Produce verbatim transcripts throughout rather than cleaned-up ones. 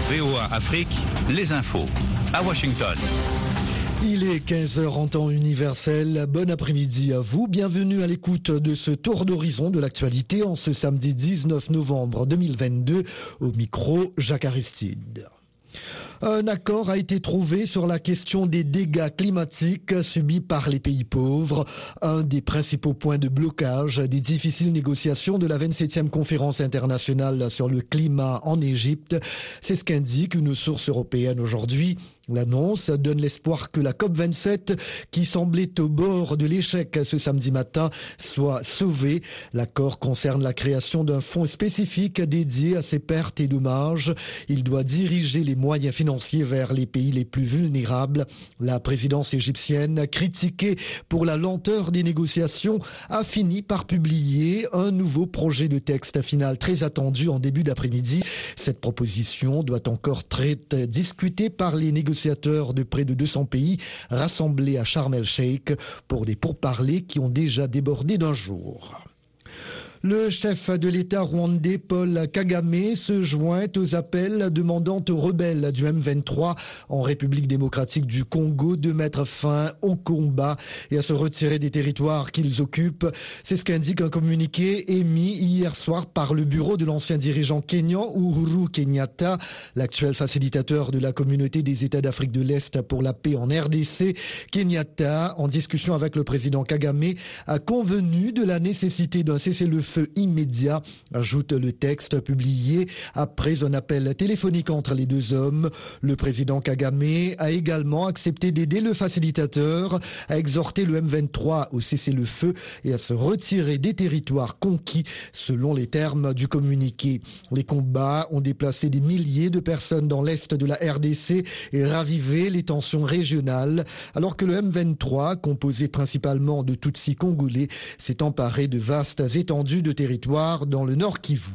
V O A Afrique, les infos à Washington. Il est quinze heures en temps universel. Bon après-midi à vous. Bienvenue à l'écoute de ce tour d'horizon de l'actualité en ce samedi dix-neuf novembre deux mille vingt-deux. Au micro, Jacques Aristide. Un accord a été trouvé sur la question des dégâts climatiques subis par les pays pauvres, un des principaux points de blocage des difficiles négociations de la vingt-septième conférence internationale sur le climat en Égypte. C'est ce qu'indique une source européenne aujourd'hui. L'annonce donne l'espoir que la COP vingt-sept, qui semblait au bord de l'échec ce samedi matin, soit sauvée. L'accord concerne la création d'un fonds spécifique dédié à ces pertes et dommages. Il doit diriger les moyens financiers vers les pays les plus vulnérables. La présidence égyptienne, critiquée pour la lenteur des négociations, a fini par publier un nouveau projet de texte final très attendu en début d'après-midi. Cette proposition doit encore être discutée par les négociateurs de près de deux cents pays rassemblés à Sharm el-Sheikh pour des pourparlers qui ont déjà débordé d'un jour. Le chef de l'État rwandais Paul Kagame se joint aux appels demandant aux rebelles du M vingt-trois en République démocratique du Congo de mettre fin au combat et à se retirer des territoires qu'ils occupent. C'est ce qu'indique un communiqué émis hier soir par le bureau de l'ancien dirigeant kényan Uhuru Kenyatta, l'actuel facilitateur de la communauté des États d'Afrique de l'Est pour la paix en R D C. Kenyatta, en discussion avec le président Kagame, a convenu de la nécessité d'un cessez-le-feu feu immédiat, ajoute le texte publié après un appel téléphonique entre les deux hommes. Le président Kagame a également accepté d'aider le facilitateur à exhorter le M vingt-trois au cessez-le-feu et à se retirer des territoires conquis selon les termes du communiqué. Les combats ont déplacé des milliers de personnes dans l'est de la R D C et ravivé les tensions régionales, alors que le M vingt-trois, composé principalement de Tutsis congolais, s'est emparé de vastes étendues de territoire dans le Nord Kivu.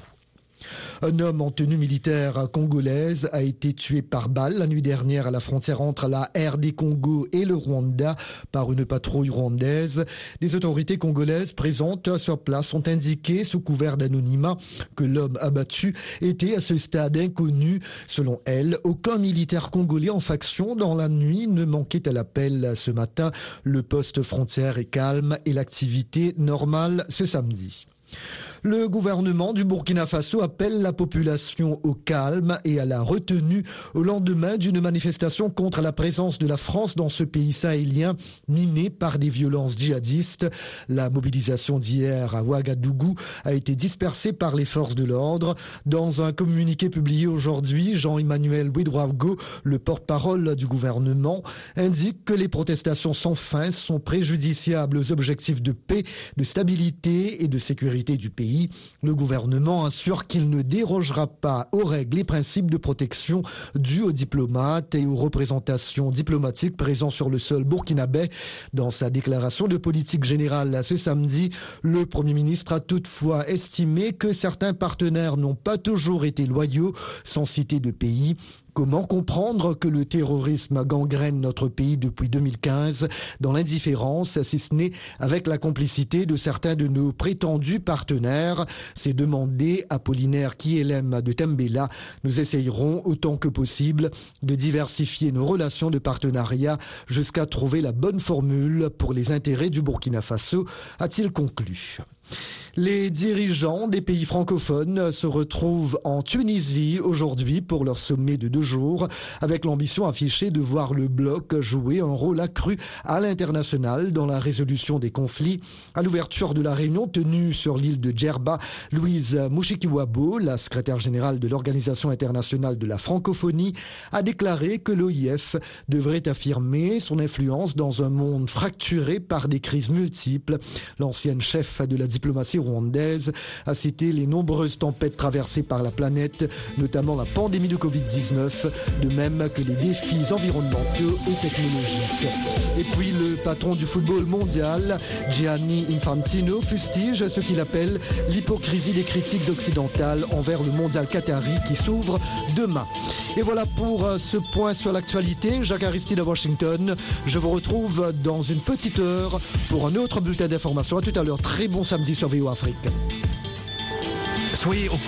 Un homme en tenue militaire congolaise a été tué par balle la nuit dernière à la frontière entre la R D Congo et le Rwanda par une patrouille rwandaise. Des autorités congolaises présentes sur place ont indiqué sous couvert d'anonymat que l'homme abattu était à ce stade inconnu. Selon elle, aucun militaire congolais en faction dans la nuit ne manquait à l'appel ce matin. Le poste frontière est calme et l'activité normale ce samedi. Le gouvernement du Burkina Faso appelle la population au calme et à la retenue au lendemain d'une manifestation contre la présence de la France dans ce pays sahélien miné par des violences djihadistes. La mobilisation d'hier à Ouagadougou a été dispersée par les forces de l'ordre. Dans un communiqué publié aujourd'hui, Jean-Emmanuel Ouedraogo, le porte-parole du gouvernement, indique que les protestations sans fin sont préjudiciables aux objectifs de paix, de stabilité et de sécurité du pays. Le gouvernement assure qu'il ne dérogera pas aux règles et principes de protection dus aux diplomates et aux représentations diplomatiques présents sur le sol burkinabé. Dans sa déclaration de politique générale ce samedi, le Premier ministre a toutefois estimé que certains partenaires n'ont pas toujours été loyaux, sans citer de pays. Comment comprendre que le terrorisme gangrène notre pays depuis deux mille quinze dans l'indifférence, si ce n'est avec la complicité de certains de nos prétendus partenaires? C'est demandé Apollinaire Kielem de Tembela. Nous essayerons autant que possible de diversifier nos relations de partenariat jusqu'à trouver la bonne formule pour les intérêts du Burkina Faso, a-t-il conclu. Les dirigeants des pays francophones se retrouvent en Tunisie aujourd'hui pour leur sommet de deux jours, avec l'ambition affichée de voir le bloc jouer un rôle accru à l'international dans la résolution des conflits. À l'ouverture de la réunion tenue sur l'île de Djerba, Louise Mushikiwabo, la secrétaire générale de l'Organisation internationale de la francophonie, a déclaré que l'O I F devrait affirmer son influence dans un monde fracturé par des crises multiples. L'ancienne chef de la diplomatie rwandaise a cité les nombreuses tempêtes traversées par la planète, notamment la pandémie de covid dix-neuf, de même que les défis environnementaux et technologiques. Et puis le patron du football mondial, Gianni Infantino, fustige ce qu'il appelle l'hypocrisie des critiques occidentales envers le mondial qatari qui s'ouvre demain. Et voilà pour ce point sur l'actualité. Jacques Aristide à Washington. Je vous retrouve dans une petite heure pour un autre bulletin d'information. À tout à l'heure. Très bon samedi sur V O A Afrique. Soyez au